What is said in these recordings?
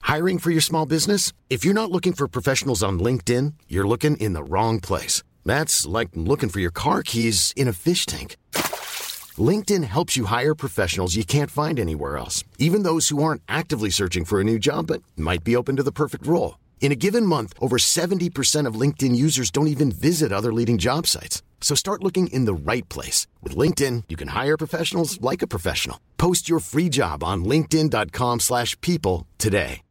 Hiring for your small business? If you're not looking for professionals on LinkedIn, you're looking in the wrong place. That's like looking for your car keys in a fish tank. LinkedIn helps you hire professionals you can't find anywhere else, even those who aren't actively searching for a new job but might be open to the perfect role. In a given month, over 70% of LinkedIn users don't even visit other leading job sites. So start looking in the right place. With LinkedIn, you can hire professionals like a professional. Post your free job on linkedin.com/people today.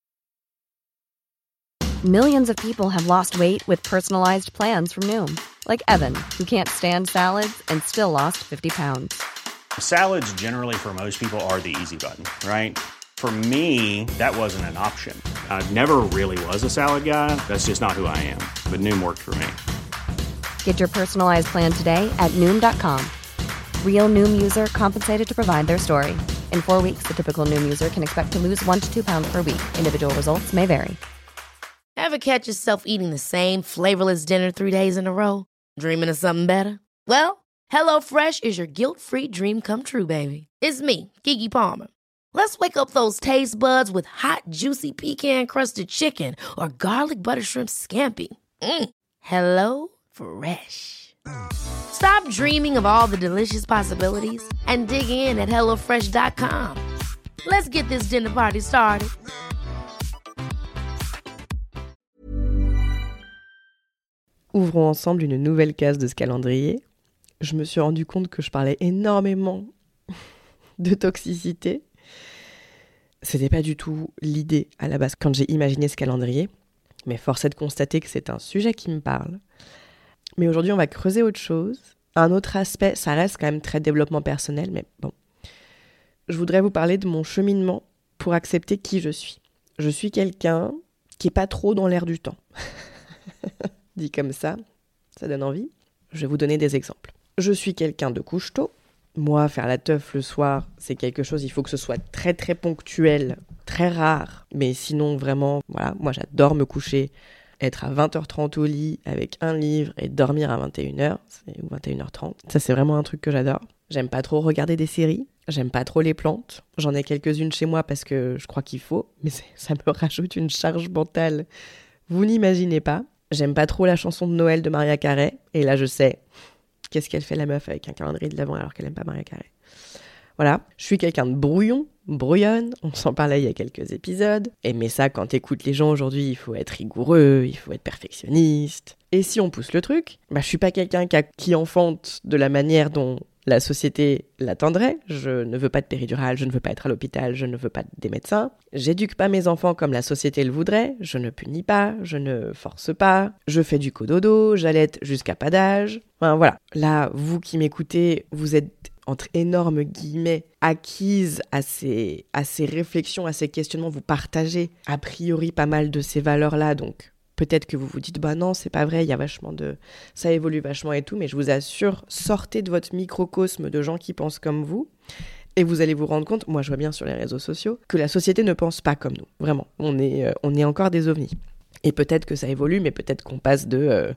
Millions of people have lost weight with personalized plans from Noom. Like Evan, who can't stand salads and still lost 50 pounds. Salads generally for most people are the easy button, right? For me, that wasn't an option. I never really was a salad guy. That's just not who I am. But Noom worked for me. Get your personalized plan today at Noom.com. Real Noom user compensated to provide their story. In 4 weeks, the typical Noom user can expect to lose 1 to 2 pounds per week. Individual results may vary. Ever catch yourself eating the same flavorless dinner 3 days in a row? Dreaming of something better? Well, HelloFresh is your guilt-free dream come true, baby. It's me, Keke Palmer. Let's wake up those taste buds with hot, juicy pecan-crusted chicken or garlic butter shrimp scampi. Hello Fresh. Stop dreaming of all the delicious possibilities and dig in at HelloFresh.com. Let's get this dinner party started. Ouvrons ensemble une nouvelle case de ce calendrier. Je me suis rendu compte que je parlais énormément de toxicité. C'était pas du tout l'idée à la base quand j'ai imaginé ce calendrier, mais force est de constater que c'est un sujet qui me parle. Mais aujourd'hui, on va creuser autre chose. Un autre aspect, ça reste quand même très développement personnel, mais bon. Je voudrais vous parler de mon cheminement pour accepter qui je suis. Je suis quelqu'un qui est pas trop dans l'air du temps. Dit comme ça donne envie. Je vais vous donner des exemples. Je suis quelqu'un de couche-tôt. Moi, faire la teuf le soir, c'est quelque chose, il faut que ce soit très très ponctuel, très rare. Mais sinon, vraiment, voilà, moi j'adore me coucher, être à 20h30 au lit avec un livre et dormir à 21h ou 21h30. Ça, c'est vraiment un truc que j'adore. J'aime pas trop regarder des séries, j'aime pas trop les plantes. J'en ai quelques-unes chez moi parce que je crois qu'il faut, mais ça me rajoute une charge mentale. Vous n'imaginez pas. J'aime pas trop la chanson de Noël de Mariah Carey. Et là, je sais, qu'est-ce qu'elle fait la meuf avec un calendrier de l'Avent alors qu'elle aime pas Mariah Carey. Voilà, je suis quelqu'un de brouillonne, on s'en parlait il y a quelques épisodes. Mais ça, quand t'écoutes les gens aujourd'hui, il faut être rigoureux, il faut être perfectionniste. Et si on pousse le truc, je suis pas quelqu'un qui enfante de la manière dont la société l'attendrait. Je ne veux pas de péridurale, je ne veux pas être à l'hôpital, je ne veux pas des médecins. J'éduque pas mes enfants comme la société le voudrait, je ne punis pas, je ne force pas, je fais du cododo, j'allaite jusqu'à pas d'âge. Enfin voilà, là, vous qui m'écoutez, vous êtes entre énormes guillemets, acquise à ces réflexions, à ces questionnements, vous partagez a priori pas mal de ces valeurs-là, donc peut-être que vous vous dites, non, c'est pas vrai, il y a vachement de... ça évolue vachement et tout, mais je vous assure, sortez de votre microcosme de gens qui pensent comme vous, et vous allez vous rendre compte, moi je vois bien sur les réseaux sociaux, que la société ne pense pas comme nous, vraiment, on est encore des ovnis. Et peut-être que ça évolue, mais peut-être qu'on passe de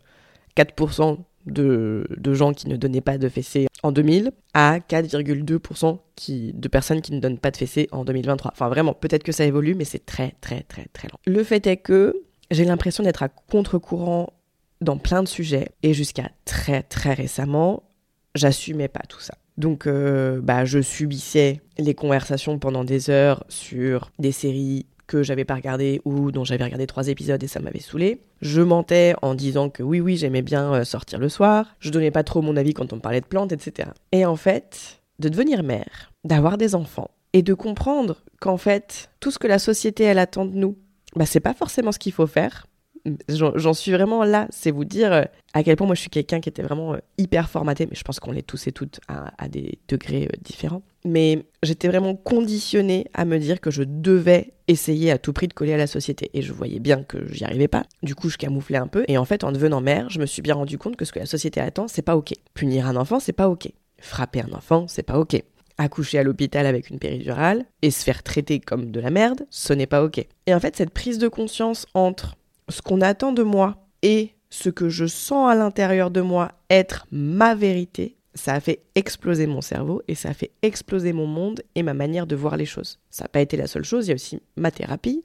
4% de gens qui ne donnaient pas de fessées en 2000 à 4,2% de personnes qui ne donnent pas de fessées en 2023. Enfin vraiment, peut-être que ça évolue, mais c'est très très très très lent. Le fait est que j'ai l'impression d'être à contre-courant dans plein de sujets et jusqu'à très très récemment, j'assumais pas tout ça. Donc je subissais les conversations pendant des heures sur des séries que j'avais pas regardé ou dont j'avais regardé 3 épisodes et ça m'avait saoulé. Je mentais en disant que oui, j'aimais bien sortir le soir. Je donnais pas trop mon avis quand on me parlait de plantes, etc. Et en fait, de devenir mère, d'avoir des enfants et de comprendre qu'en fait, tout ce que la société, elle attend de nous, c'est pas forcément ce qu'il faut faire. J'en suis vraiment là, c'est vous dire à quel point moi je suis quelqu'un qui était vraiment hyper formaté, mais je pense qu'on l'est tous et toutes à des degrés différents. Mais j'étais vraiment conditionnée à me dire que je devais essayer à tout prix de coller à la société. Et je voyais bien que j'y arrivais pas. Du coup, je camouflais un peu. Et en fait, en devenant mère, je me suis bien rendu compte que ce que la société attend, c'est pas ok. Punir un enfant, c'est pas ok. Frapper un enfant, c'est pas ok. Accoucher à l'hôpital avec une péridurale et se faire traiter comme de la merde, ce n'est pas ok. Et en fait, cette prise de conscience entre ce qu'on attend de moi et ce que je sens à l'intérieur de moi être ma vérité, ça a fait exploser mon cerveau et ça a fait exploser mon monde et ma manière de voir les choses. Ça n'a pas été la seule chose, il y a aussi ma thérapie.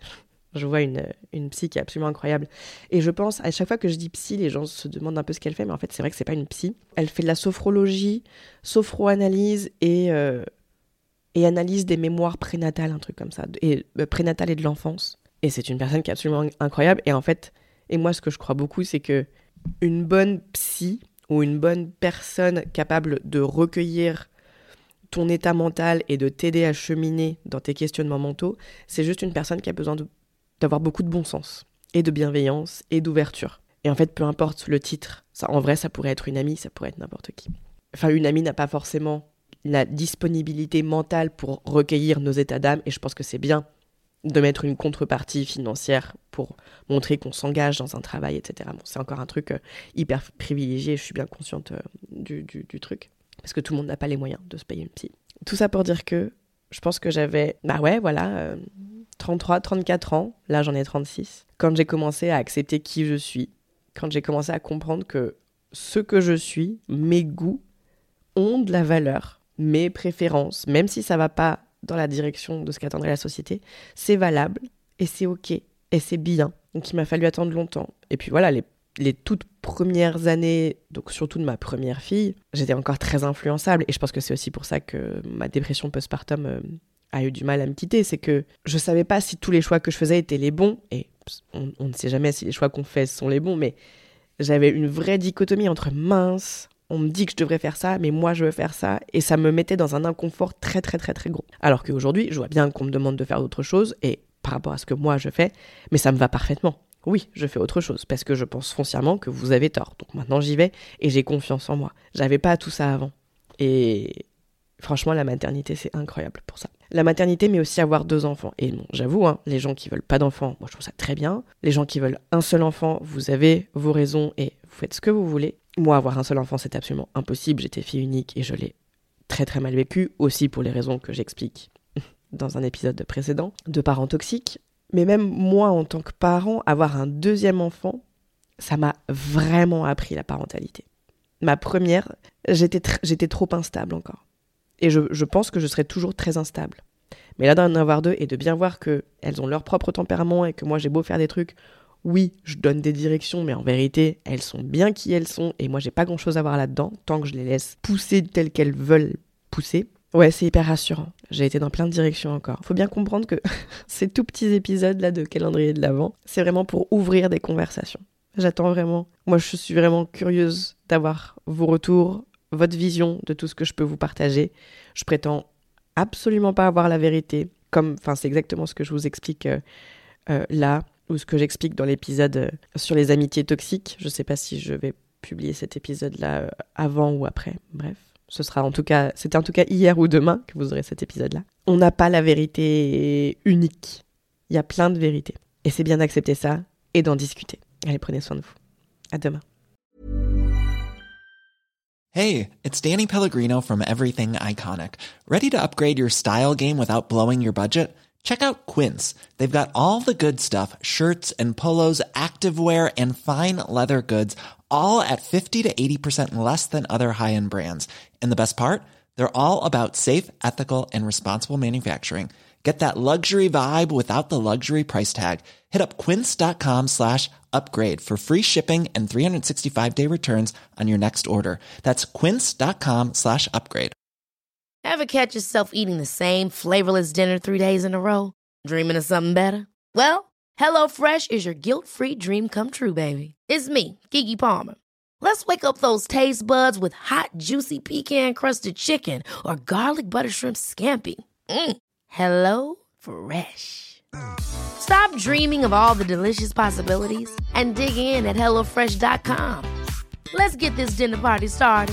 Je vois une psy qui est absolument incroyable. Et je pense, à chaque fois que je dis psy, les gens se demandent un peu ce qu'elle fait, mais en fait, c'est vrai que c'est pas une psy. Elle fait de la sophrologie, sophroanalyse et analyse des mémoires prénatales, un truc comme ça, et prénatales et de l'enfance. Et c'est une personne qui est absolument incroyable. Et en fait, et moi, ce que je crois beaucoup, c'est que une bonne psy ou une bonne personne capable de recueillir ton état mental et de t'aider à cheminer dans tes questionnements mentaux, c'est juste une personne qui a besoin d'avoir beaucoup de bon sens et de bienveillance et d'ouverture. Et en fait, peu importe le titre, ça, en vrai, ça pourrait être une amie, ça pourrait être n'importe qui. Enfin, une amie n'a pas forcément la disponibilité mentale pour recueillir nos états d'âme, et je pense que c'est bien de mettre une contrepartie financière pour montrer qu'on s'engage dans un travail, etc. Bon, c'est encore un truc hyper privilégié, je suis bien consciente du truc, parce que tout le monde n'a pas les moyens de se payer une psy. Tout ça pour dire que je pense que j'avais, 33, 34 ans, là j'en ai 36, quand j'ai commencé à accepter qui je suis, quand j'ai commencé à comprendre que ce que je suis, mes goûts, ont de la valeur, mes préférences, même si ça va pas dans la direction de ce qu'attendrait la société, c'est valable et c'est ok et c'est bien. Donc il m'a fallu attendre longtemps. Et puis voilà, les toutes premières années, donc surtout de ma première fille, j'étais encore très influençable, et je pense que c'est aussi pour ça que ma dépression postpartum a eu du mal à me quitter. C'est que je savais pas si tous les choix que je faisais étaient les bons, et on ne sait jamais si les choix qu'on fait sont les bons, mais j'avais une vraie dichotomie entre mince, on me dit que je devrais faire ça, mais moi je veux faire ça, et ça me mettait dans un inconfort très très très très gros. Alors qu'aujourd'hui, je vois bien qu'on me demande de faire d'autres choses, et par rapport à ce que moi je fais, mais ça me va parfaitement. Oui, je fais autre chose, parce que je pense foncièrement que vous avez tort. Donc maintenant j'y vais, et j'ai confiance en moi. J'avais pas tout ça avant. Et franchement, la maternité, c'est incroyable pour ça. La maternité, mais aussi avoir 2 enfants. Et bon, j'avoue, les gens qui veulent pas d'enfants, moi je trouve ça très bien. Les gens qui veulent un seul enfant, vous avez vos raisons et vous faites ce que vous voulez. Moi, avoir un seul enfant, c'est absolument impossible. J'étais fille unique et je l'ai très très mal vécu, aussi pour les raisons que j'explique dans un épisode précédent, de parents toxiques. Mais même moi, en tant que parent, avoir un 2e enfant, ça m'a vraiment appris la parentalité. Ma première, j'étais trop instable encore. Et je pense que je serai toujours très instable. Mais là, d'en avoir 2 et de bien voir qu'elles ont leur propre tempérament et que moi, j'ai beau faire des trucs, oui, je donne des directions, mais en vérité, elles sont bien qui elles sont et moi, j'ai pas grand-chose à voir là-dedans, tant que je les laisse pousser telles qu'elles veulent pousser. Ouais, c'est hyper rassurant. J'ai été dans plein de directions encore. Faut bien comprendre que ces tout petits épisodes-là de calendrier de l'Avent, c'est vraiment pour ouvrir des conversations. J'attends vraiment. Moi, je suis vraiment curieuse d'avoir vos retours, votre vision de tout ce que je peux vous partager. Je prétends absolument pas avoir la vérité. C'est exactement ce que je vous explique là, ou ce que j'explique dans l'épisode sur les amitiés toxiques. Je sais pas si je vais publier cet épisode-là avant ou après. Bref. C'était en tout cas hier ou demain que vous aurez cet épisode-là. On n'a pas la vérité unique. Il y a plein de vérités. Et c'est bien d'accepter ça et d'en discuter. Allez, prenez soin de vous. À demain. Hey, it's Danny Pellegrino from Everything Iconic. Ready to upgrade your style game without blowing your budget? Check out Quince. They've got all the good stuff, shirts and polos, activewear, and fine leather goods, all at 50 to 80% less than other high-end brands. And the best part? They're all about safe, ethical, and responsible manufacturing. Get that luxury vibe without the luxury price tag. Hit up quince.com/upgrade for free shipping and 365-day returns on your next order. That's quince.com/upgrade. Ever catch yourself eating the same flavorless dinner 3 days in a row? Dreaming of something better? Well, HelloFresh is your guilt-free dream come true, baby. It's me, Keke Palmer. Let's wake up those taste buds with hot, juicy pecan-crusted chicken or garlic butter shrimp scampi. Hello Fresh. Stop dreaming of all the delicious possibilities and dig in at HelloFresh.com. Let's get this dinner party started.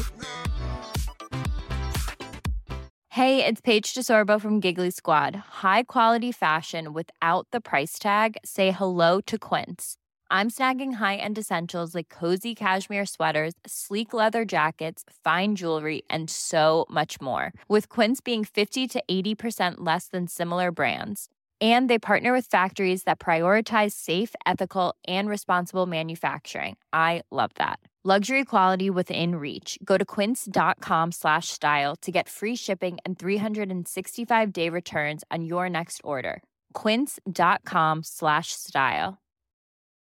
Hey, it's Paige DeSorbo from Giggly Squad. High quality fashion without the price tag. Say hello to Quince. I'm snagging high-end essentials like cozy cashmere sweaters, sleek leather jackets, fine jewelry, and so much more. With Quince being 50 to 80% less than similar brands. And they partner with factories that prioritize safe, ethical, and responsible manufacturing. I love that. Luxury quality within reach. Go to quince.com/style to get free shipping and 365-day returns on your next order. quince.com/style.